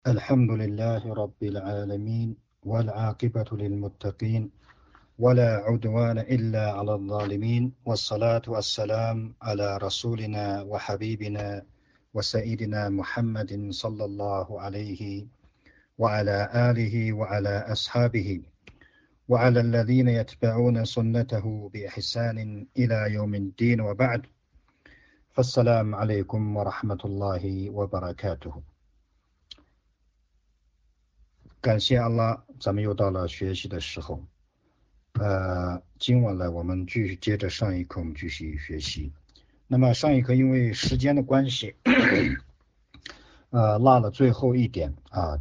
الحمد لله رب العالمين والعاقبة للمتقين ولا عدوان إلا على الظالمين والصلاة والسلام على رسولنا وحبيبنا وسيدنا محمد صلى الله عليه وعلى آله وعلى أصحابه وعلى الذين يتبعون سنته بإحسان إلى يوم الدين وبعد فالسلام عليكم ورحمة الله وبركاته。感谢安拉，咱们又到了学习的时候。今晚呢，我们继续接着上一课，我们继续学习。那么上一课因为时间的关系，落了最后一点啊，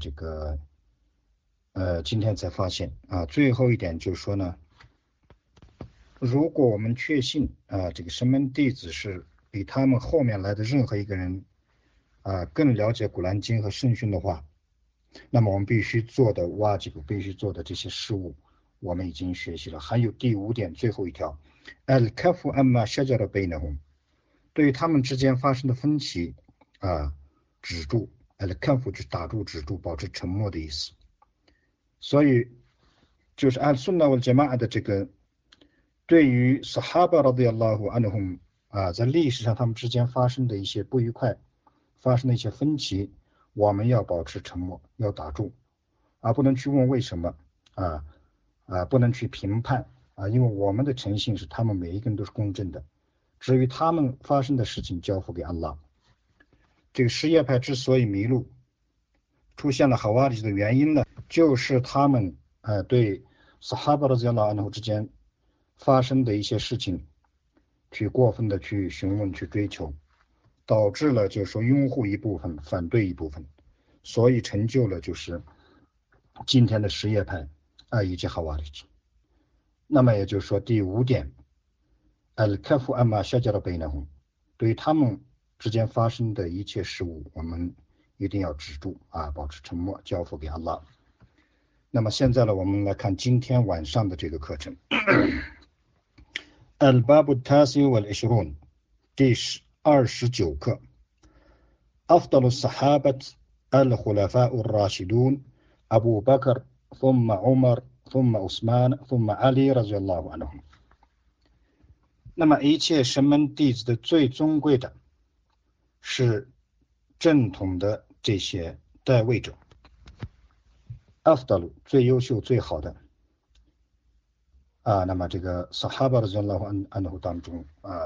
今天才发现啊，最后一点就是说呢，如果我们确信这个神门弟子是比他们后面来的任何一个人更了解古兰经和圣训的话，那么我们必须做的必须做的这些事物，我们已经学习了。还有第5点，最后一条 al-kafu amma shajara bainahum， 对于他们之间发生的分歧止住。al-kafu 就是打住、止住、保持沉默的意思。所以就是按 Sunnah wal Jama'ah 的这个对于 Sahaba radiyallahu anhum 在历史上他们之间发生的一些不愉快，发生的一些分歧，我们要保持沉默，要打住不能去问为什么不能去评判因为我们的诚信是他们每一个人都是公正的，至于他们发生的事情交付给安拉。这个什叶派之所以迷路，出现了哈瓦里的原因呢，就是他们对 Sahaba radiyallahu anhum 之间发生的一些事情去过分的去询问、去追求，导致了就是说拥护一部分，反对一部分，所以成就了就是今天的什叶派以及哈瓦里。那么也就是说第5点 al-kafu amma shajara bainahum， 对于他们之间发生的一切事物，我们一定要止住保持沉默，交付给安拉。那么现在呢，我们来看今天晚上的这个课程al-babu al-tasi wal-ishrun， 第29课 أفضل الصحابة الخلفاء الراشدون أبو بكر ثم عمر ثم عثمان ثم علي رضي الله عنهم。 那么一切神门弟子的最尊贵的是正统的这些代位者，Afdal 最优秀最好的那么这个 Sahaba radiyallahu anhu 当中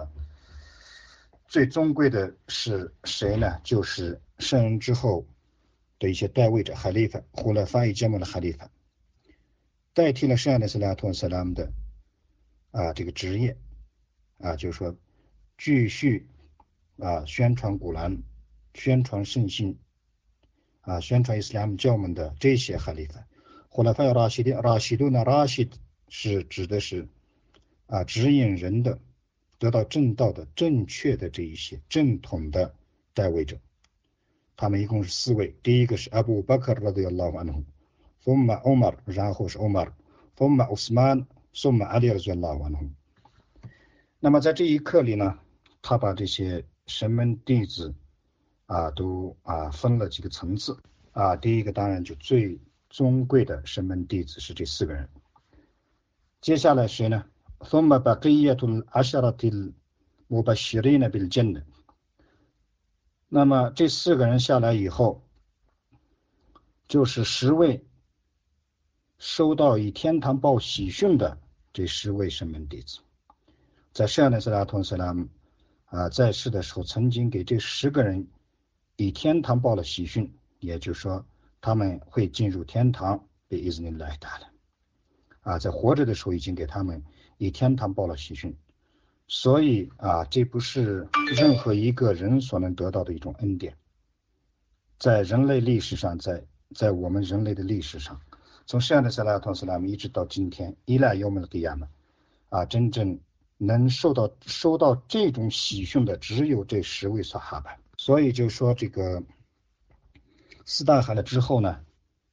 最尊贵的是谁呢？就是圣人之后的一些代位者Khalifa， Khulafa Jamal 的 Khalifa， 代替了圣安的斯拉图萨拉姆的这个职业就是说继续宣传古兰，宣传圣信宣传伊斯兰教门的这些哈里法。Khulafa Rashidun 是指的是指引人的得到正道的正确的这一些正统的代位者，他们一共是4位。第一个是 Abu Bakr radiyallahu anhu， thumma Umar， 然后是 Umar， thumma Uthman， thumma Ali radiyallahu anhu。 那么在这一课里呢，他把这些神门弟子都分了几个层次第一个当然就最尊贵的神门弟子是这4个人。接下来谁呢？ ثم بقية العشرة المبشرين بالجنة。 那么这4个人下来以后，就是10位收到以天堂报喜讯的这10位神门弟子。在圣安的斯拉图斯拉姆在世的时候，曾经给这10个人以天堂报了喜讯，也就是说他们会进入天堂，被伊兹尼来达了在活着的时候已经给他们以天堂报了喜讯。所以这不是任何一个人所能得到的一种恩典，在人类历史上，在我们人类的历史上，从圣安的斯拉图斯拉姆一直到今天伊拉尤门的亚门真正能收到这种喜讯的只有这10位萨哈巴。所以就说这个4大海了之后呢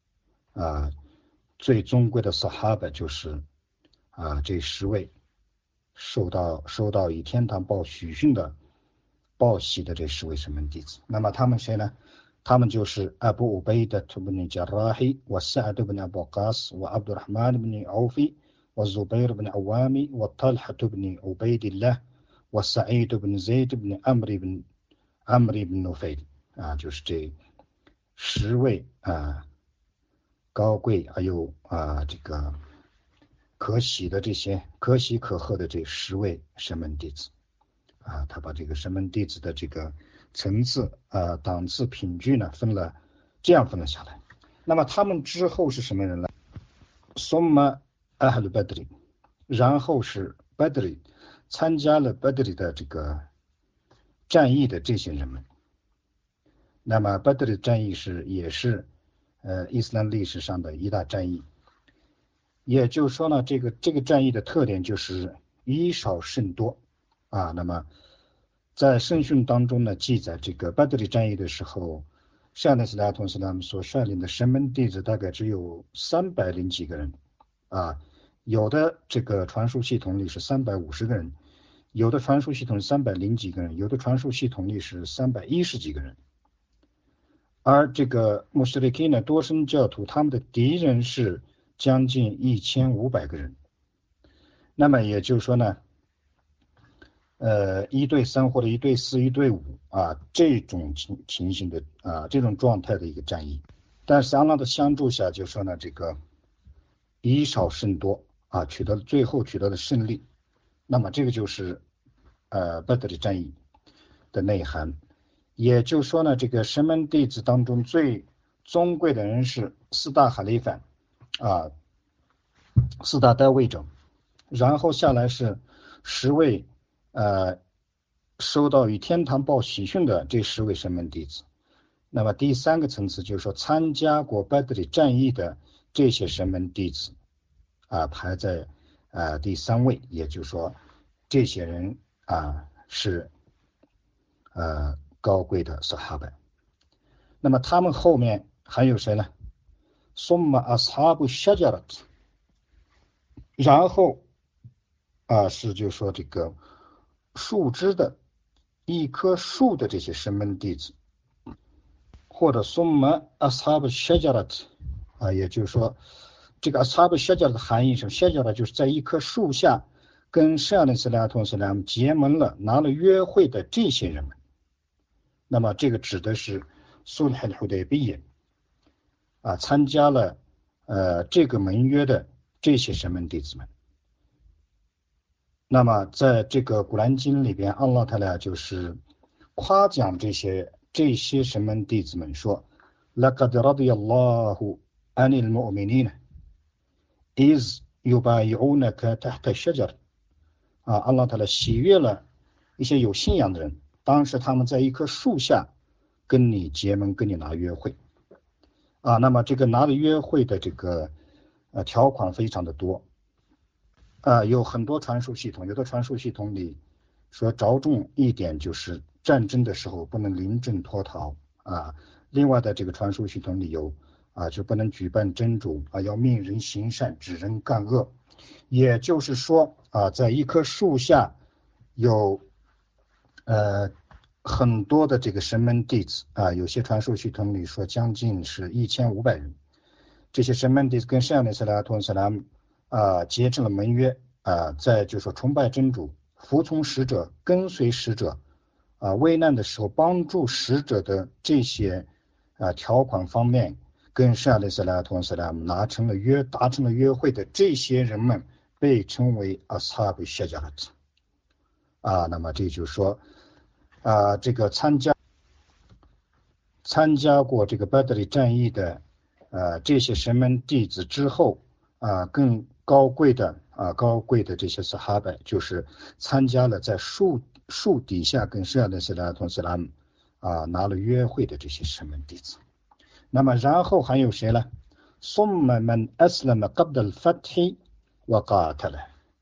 最尊贵的萨哈巴就是这10位收到以天堂报喜讯的报喜的这10位神门弟子。那么他们谁呢？ 他们就是阿布乌贝的 بن جراح وسعد بن أبي وقاص وعبد الرحمن بن عوف والزبير بن عوام وطلحة بن عبيد الله وسعيد بن زيد بن عمرو بن نفيل 就是这10位高贵还有这个可喜的这些可喜可贺的这10位神门弟子他把这个神门弟子的这个层次档次品距呢这样分了下来。那么他们之后是什么人呢？ثم أهل بدر，然后是 بدر 参加了 بدر 的这个战役的这些人们。那么 بدر 战役也是伊斯兰历史上的一大战役。也就是说呢，这个战役的特点就是以少胜多那么在圣训当中呢，记载这个 بدر 战役的时候，圣安斯拉图斯拉姆所率领的神门弟子大概只有300几个人有的这个传输系统里是350个人，有的传输系统是300几个人，有的传输系统里是310几个人。而这个穆斯林呢，多神教徒他们的敌人是将近1500个人。那么也就是说呢1对3或者1对4、1对5这种情形的这种状态的一个战役。但是安拉的相助下，就说呢这个以少胜多最后取得了胜利。那么这个就是بدر战役的内涵。也就是说呢，这个神门弟子当中最尊贵的人是4大哈里法4大代位者，然后下来是10位收到与天堂报喜讯的这10位神门弟子。那么第3个层次就是说参加过بدر战役的这些神门弟子排在第3位，也就是说这些人是高贵的撒哈巴。那么他们后面还有谁呢？ثم أصحاب الشجرة，然后是就说这个树枝的一棵树的这些神门弟子，或者ثم أصحاب الشجرة也就是说这个 أصحاب الشجرة 的含义是，شجرة就是在一棵树下跟圣安斯拉图斯拉姆结盟了，拿了约会的这些人们。那么这个指的是苏尔胡代比耶参加了这个盟约的这些神门弟子们。那么在这个古兰经里边，安拉塔拉就是夸奖这些神门弟子们说 لقد رضي الله عن المؤمنين إذ يبايعونك تحت الشجر安拉塔拉喜悦了一些有信仰的人，当时他们在一棵树下跟你结盟，跟你拿约会那么这个拿了约会的这个条款非常的多有很多传输系统，有的传输系统里说着重一点就是战争的时候不能临阵脱逃另外的这个传输系统里有就不能举办真主要命人行善，指人干恶。也就是说在一棵树下有很多的这个神门弟子有些传输系统里说将近是1500人。这些神门弟子跟圣安斯拉图斯拉姆结成了盟约在就说崇拜真主，服从使者，跟随使者危难的时候帮助使者的这些条款方面，跟圣安斯拉图斯拉姆达成了约会的这些人们被称为ashabul shajarat那么这就是说这个参加过这个بدر战役的这些神门弟子之后更高贵的这些撒哈巴，就是参加了在树底下跟圣安斯拉图斯拉姆拿了约会的这些神门弟子。那么然后还有谁呢ثم من أسلم قبل الفتح وقاتل，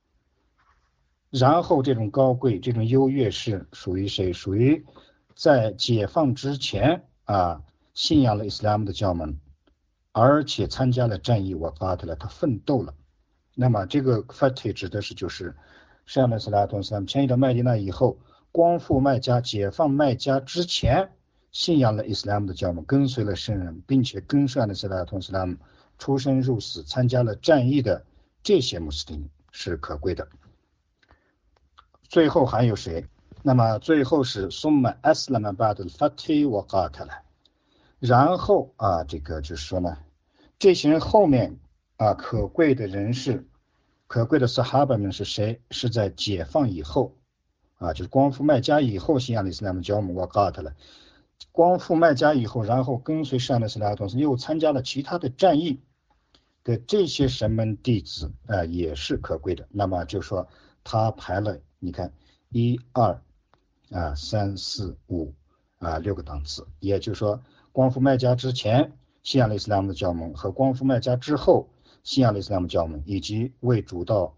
然后这种高贵这种优越是属于谁？属于在解放之前信仰了伊斯兰的教门，而且参加了战役وقاتل，他奋斗了。那么这个 fatih 指的是就是圣安斯拉图斯拉姆迁移到麦地那以后，光复麦加，解放麦加之前信仰了伊斯兰的教母，跟随了圣人，并且跟上了萨拉图斯拉姆出生入死，参加了战役的这些穆斯林是可贵的。最后还有谁？那么最后是summa aslama ba'd al-fath wa qatala，然后这个就是说呢，这些人后面可贵的人士，可贵的撒哈巴们是谁？是在解放以后就是光复麦加以后信仰的伊斯兰教母wa qatala，光复麦加以后，然后跟随上的斯拉同时又参加了其他的战役的这些神门弟子也是可贵的。那么就说他排了，你看1、2、3、4、5、6个档次，也就是说光复麦加之前信仰了伊斯兰的教门和光复麦加之后信仰了伊斯兰的教门，以及为主道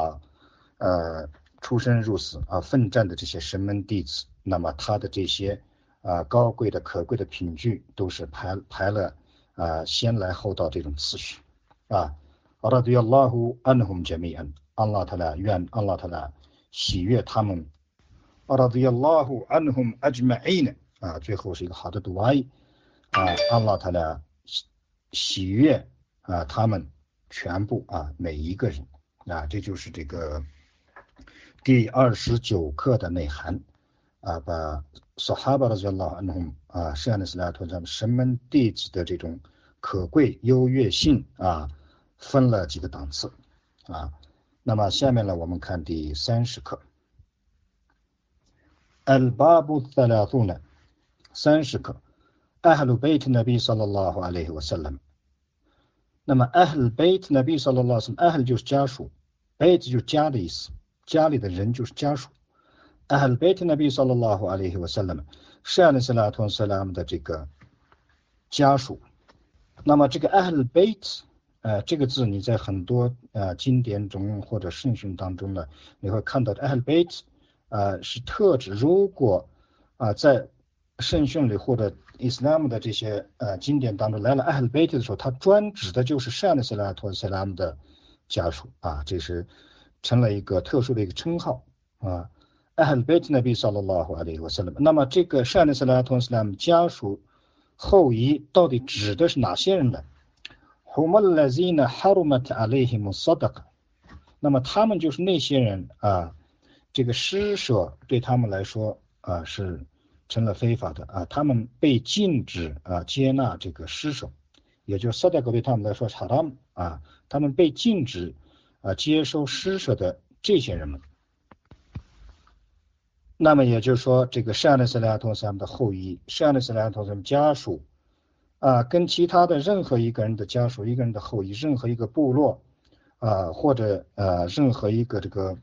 出生入死奋战的这些神门弟子，那么他的这些高贵的可贵的品质都是排了先来后到这种次序radiyallahu anhum jami'an， Allah ta'ala 愿 Allah ta'ala 喜悦他们radiyallahu anhum ajma'in， 最后是一个好的读爱Allah ta'ala 喜悦他们全部每一个人这就是这个第29课的内涵把Sahaba radiyallahu anhum圣安斯拉托神门弟子的这种可贵优越性分了几个档次那么下面呢我们看第30课Al-Babu Thalathuna 30课 Ahlul Bayt Nabi sallallahu alayhi wa sallam。 那么 Ahlul Bayt Nabi sallallahu alayhi wa sallam， Ahl 就是家属， Bayt 就是家的意思，家里的人就是家属。Ahl Bayt Nabi sallallahu alayhi wa sallam， 圣安斯拉托斯拉姆的这个家属。那么这个 Ahl Bayt这个字你在很多经典中或者圣训当中呢，你会看到 Ahl Bayt是特指，如果在圣训里或者伊斯兰的这些经典当中来了 Ahl Bayt 的时候，它专指的就是圣安斯拉托斯拉姆的家属这是成了一个特殊的一个称号Ahl Bayt Nabi sallallahu alayhi wa sallam。 那么这个圣安斯拉托斯拉姆家属后裔到底指的是哪些人呢？Hum allazina harumat alayhim as-sadaqa， 那么他们就是那些人这个施舍对他们来说是成了非法的他们被禁止接纳这个施舍，也就是 sadaqa 对他们来说是 haram 他们被禁止接收施舍的这些人们。那么也就是说这个圣安斯拉托斯拉姆的后裔，圣安斯拉托斯拉姆家属跟其他的任何一个人的家属，一个人的后裔，任何一个部落或者任何一个这个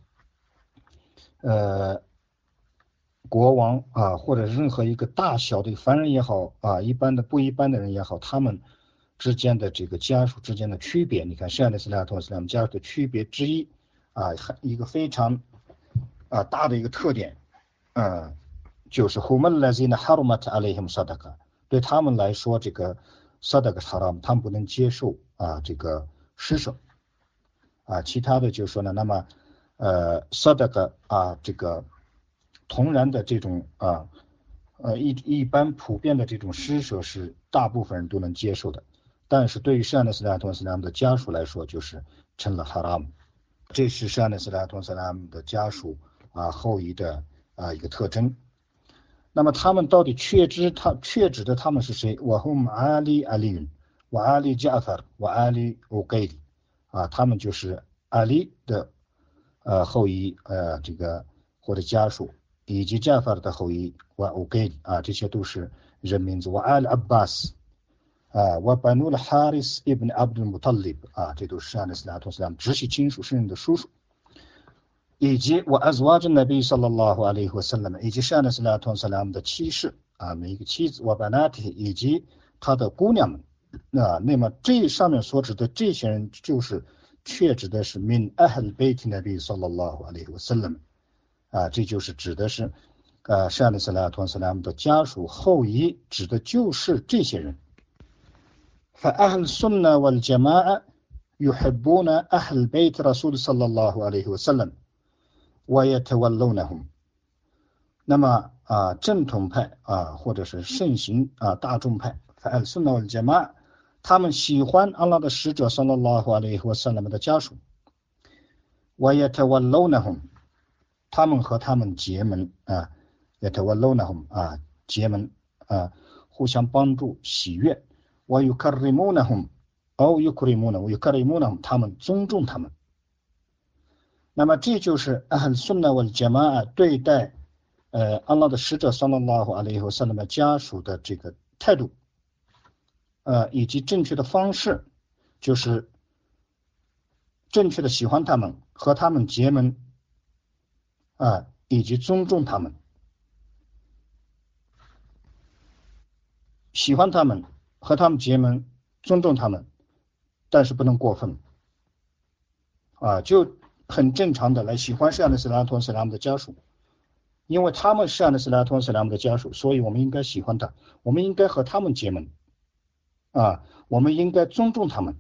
国王或者任何一个大小的凡人也好一般的不一般的人也好，他们之间的这个家属之间的区别，你看圣安斯拉托斯拉姆家属的区别之一一个非常大的一个特点就是 hum allazina harumat alayhim sadaqa， 对他们来说这个 sadaqa haram， 他们不能接受这个施舍其他的就是说呢，那么sadaqa这个同然的这种一般普遍的这种施舍是大部分人都能接受的，但是对于圣安斯拉托斯拉姆的家属来说就是成了 haram。 这是圣安斯拉托斯拉姆的家属后裔的一个特征。那么他们到底确指的他们是谁？Wahum Ali Aliyun wa Ali Ja'far wa Ali Uqayl他们就是阿里的后裔这个或者家属，以及 Ja'far 的后裔wa Uqayl这些都是人名字。wa Al Abbas wa Banu al-Haris ibn Abdul Muttalib 这都是圣安斯拉托斯拉姆直系亲属，圣人的叔叔。以及我azwaj an-nabi sallallahu alayhi wa sallam， 以及圣安斯拉托斯拉姆的妻室每一个妻子，我banatihi以及他的姑娘们那么这上面所指的这些人就是确指的是 min ahl bayt nabi sallallahu alayhi wa sallam这就是指的是圣安斯拉托斯拉姆的家属后裔，指的就是这些人。fa ahl sunnah wal jama'a yuhibbuna ahl bayt rasul sallallahu alayhi wa sallam ويتولونهم。 那么正统派或者是盛行大众派，Ahl Sunnah wal Jamaa，他们喜欢安拉的使者 sallallahu alaihi wasallam 的家属， wa yatawallawnahum， 他们和他们结盟yatawallawnahum 结盟互相帮助喜悦， wa yukarrimunahum aw yukrimunahum， 他们尊重他们。那么这就是 Ahl Sunnah wal Jamaa 对待安拉的使者 sallallahu alaihi wasallam 的家属的这个态度以及正确的方式，就是正确的喜欢他们，和他们结盟以及尊重他们，喜欢他们，和他们结盟，尊重他们，但是不能过分就很正常的来喜欢圣安的斯拉托斯拉姆的家属，因为他们是圣安的斯拉托斯拉姆的家属，所以我们应该喜欢他，我们应该和他们结盟我们应该尊重他们，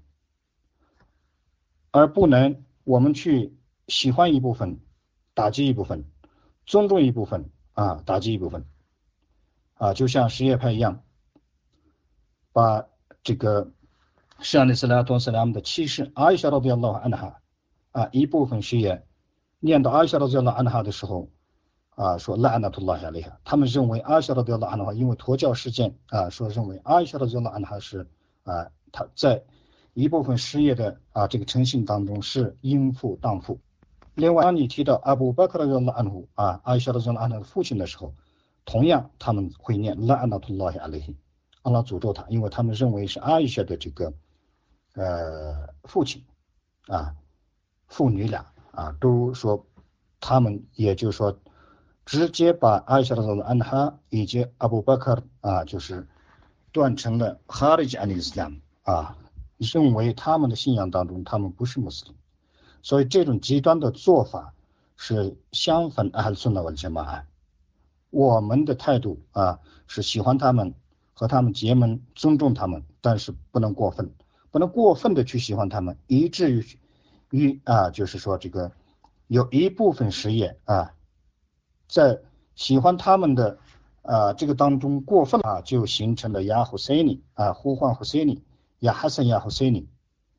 而不能我们去喜欢一部分打击一部分，尊重一部分打击一部分就像什叶派一样，把这个圣安的斯拉托斯拉姆的妻室阿伊莎radhiyallahu anha一部分什叶念到阿伊莎radhiyallahu anha的时候说 la'natullahi alayha， 他们认为阿伊莎radhiyallahu anha 因为脱教事件说认为阿伊莎radhiyallahu anha 是他在一部分什叶的这个诚信当中是应付当父。另外当你提到阿布巴克radhiyallahu anhu阿伊莎radhiyallahu anha 的父亲的时候，同样他们会念 la'natullahi alayhi， 安拉诅咒他，因为他们认为是阿伊莎的这个父亲父女俩都说他们也就是说直接把阿伊莎radhiyallahu anha以及阿布巴克就是断成了 Kharij an Islam 认为他们的信仰当中他们不是穆斯林，所以这种极端的做法是相反 Ahl Sunnah wal Jamaa。 我们的态度是喜欢他们，和他们结盟，尊重他们，但是不能过分，不能过分的去喜欢他们，以至于就是说这个有一部分什叶在喜欢他们的这个当中过分就形成了呀胡塞尼呼唤胡塞尼呀哈森呀胡塞尼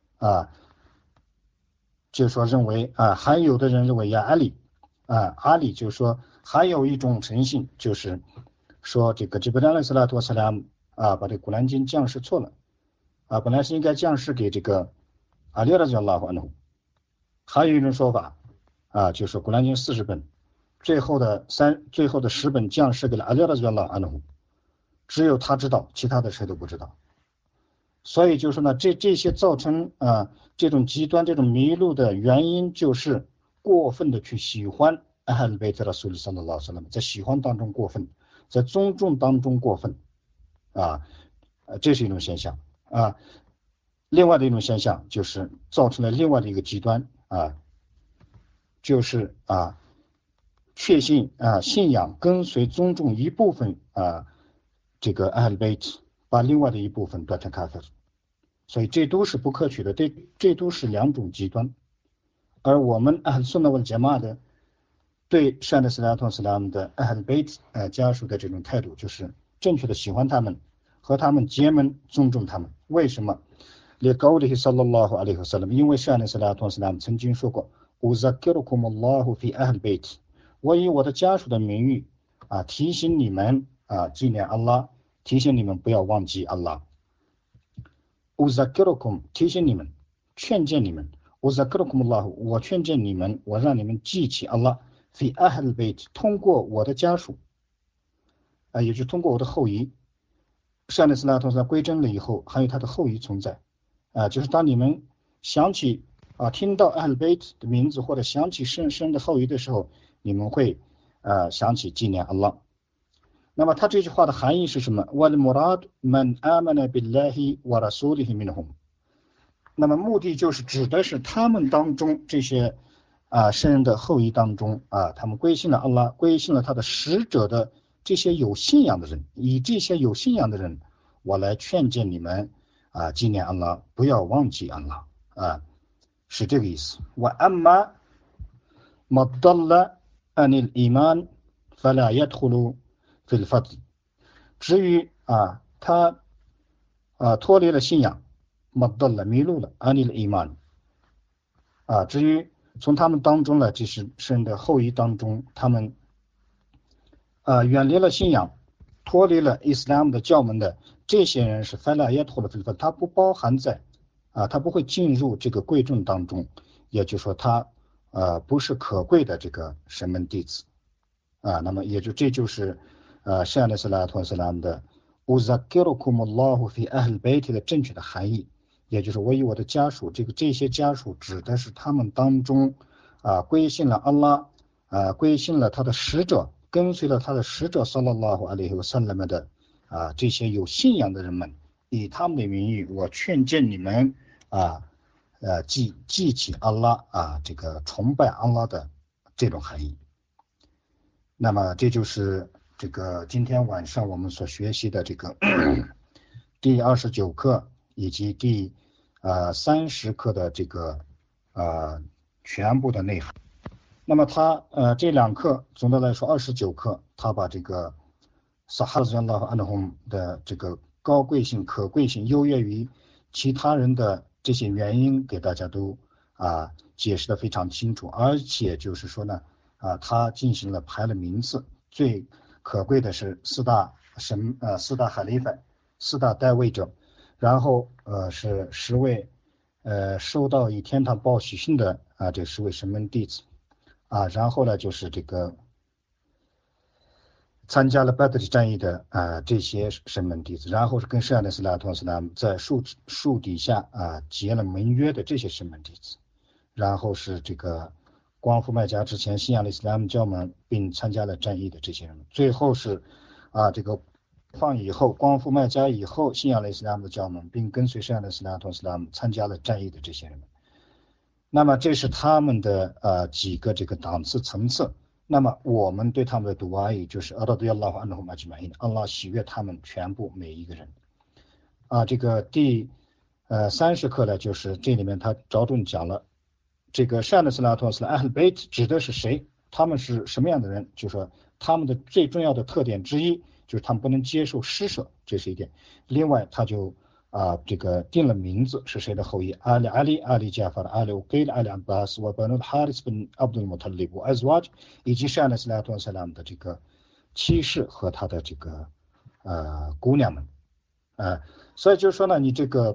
就是说认为还有的人认为呀阿里阿里就是说还有一种诚信，就是说这个吉布拉勒斯拉托斯拉姆把这古兰经降世错了本来是应该降世给这个阿里radhiyallahu anhu，还有一种说法就是古兰经40本，最后的10本降世给了阿里radhiyallahu anhu，只有他知道，其他的谁都不知道。所以就是呢，这些造成这种极端这种迷路的原因，就是过分的去喜欢Ahl Bayt Rasul sallallahu alaihi wasallam，在喜欢当中过分，在尊重当中过分这是一种现象另外的一种现象就是造成了另外的一个极端就是确信信仰跟随尊重一部分这个 Ahl Bayt， 把另外的一部分断成 kafir， 所以这都是不可取的，这都是两种极端。而我们 Ahl Sunnah wal Jamaa 的对圣安的斯拉托斯拉姆的 Ahl Bayt 家属的这种态度，就是正确的喜欢他们，和他们结盟，尊重他们。为什么？liqawlihi sallallahu alaihi wasallam， 因为圣安的斯拉托斯拉姆曾经说过 uzakkirukumullahu fi Ahl Bayt， 我以我的家属的名誉提醒你们纪念安拉，提醒你们不要忘记安拉。uzakkirukum 提醒你们，劝诫你们，uzakkirukumullahu 我劝诫你们，我让你们记起安拉fi Ahl Bayt， 通过我的家属也就是通过我的后裔。圣安的斯拉托斯拉姆归真了以后，还有他的后裔存在就是当你们想起听到 Ahl Bayt 的名字，或者想起圣的后裔的时候，你们会想起纪念安拉。那么他这句话的含义是什么？ wal murad man amana billahi wa rasulihi minhum， 那么目的就是指的是他们当中这些圣人的后裔当中他们归信了安拉，归信了他的使者的这些有信仰的人，以这些有信仰的人，我来劝诫你们纪念安拉，不要忘记安拉是这个意思。wa amma madalla anil iman fala yadkhulu في الفضل。至于他脱离了信仰，مضل迷路了，عن الإيمان。至于从他们当中呢，就是神的后裔当中，他们远离了信仰，脱离了伊斯兰的教门的这些人是فلا يدخل في الفضل，他不包含在他不会进入这个贵重当中，也就是说他不是可贵的这个神门弟子那么这就是圣安斯拉托斯拉姆的أذكركم الله في أهل بيت的正确的含义，也就是我以我的家属，这些家属指的是他们当中归信了安拉归信了他的使者，跟随了他的使者صلى الله عليه وسلم的这些有信仰的人们，以他们的名义，我劝诫你们记起安拉这个崇拜安拉的这种含义。那么这就是这个今天晚上我们所学习的这个第29课以及第30课的这个全部的内涵。那么他这两课总的来说29课，他把这个萨哈兹拉和安德洪的这个高贵性、可贵性、优越于其他人的这些原因给大家都解释的非常清楚，而且就是说呢他进行了排了名次，最可贵的是四大哈里法，4大代位者，然后是10位收到以天堂报喜讯的这10位神门弟子然后呢就是这个参加了巴德里战役的这些神门弟子，然后是跟圣安斯拉托斯拉姆在树底下结了盟约的这些神门弟子，然后是这个光复麦加之前信仰了伊斯兰教门并参加了战役的这些人，最后是这个以后光复麦加以后信仰了伊斯兰的教门并跟随圣安斯拉托斯拉姆参加了战役的这些人。那么这是他们的几个这个档次层次。那么我们对他们的读也就是安拉喜悦他们全部每一个人这个第30课呢，就是这里面他着重讲了这个圣安斯拉托斯拉 Ahl Bayt 指的是谁，他们是什么样的人，就是说他们的最重要的特点之一就是他们不能接受施舍，这是一点。另外他就这个定了名字是谁的后裔，阿里加法的阿里乌盖阿里安巴斯和本哈里斯本阿卜杜穆塔利布艾兹瓦以及圣安斯拉托斯拉姆的这个妻室和他的这个姑娘们所以就是说呢，你这个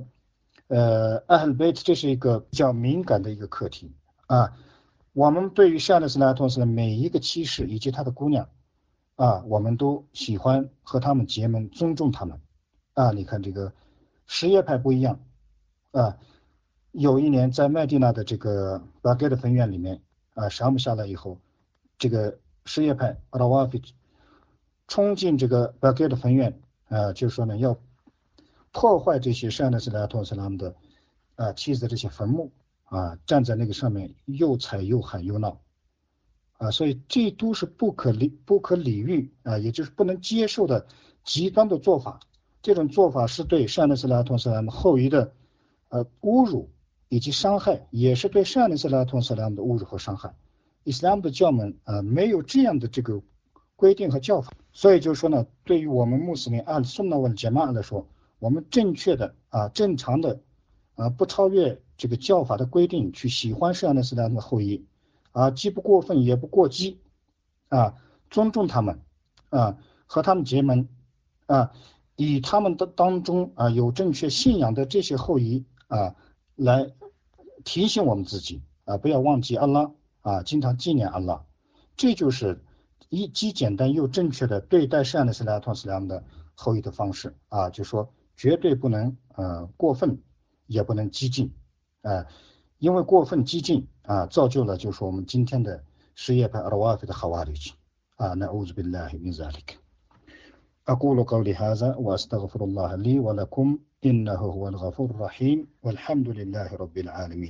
Ahl Bayt 这是一个比较敏感的一个课题我们对于圣安斯拉托斯的每一个妻室以及他的姑娘我们都喜欢和他们结盟，尊重他们你看这个什叶派不一样有一年在麦地那的这个巴盖的分院里面沙姆下来以后，这个什叶派阿拉瓦菲冲进这个巴盖的分院就是说呢要破坏这些圣安斯拉托斯拉姆的妻子的这些坟墓站在那个上面又踩又喊又闹所以这都是不可理喻也就是不能接受的极端的做法。这种做法是对圣安斯拉托斯拉姆后裔的侮辱以及伤害，也是对圣安斯拉托斯拉姆的侮辱和伤害。伊斯兰的教门没有这样的这个规定和教法，所以就是说呢，对于我们穆斯林按sunna wal jamaa来说，我们正确的正常的不超越这个教法的规定去喜欢圣安斯拉姆的后裔既不过分也不过激尊重他们和他们结盟以他们的当中有正确信仰的这些后裔来提醒我们自己不要忘记安拉经常纪念安拉，这就是既简单又正确的对待圣安斯拉托斯拉姆的后裔的方式就是说绝对不能过分也不能激进因为过分激进造就了就是我们今天的什叶派阿拉瓦菲的哈瓦里奇نعوذ بالله من ذلك أقول قولي هذا وأستغفر الله لي ولكم إنه هو الغفور الرحيم والحمد لله رب العالمين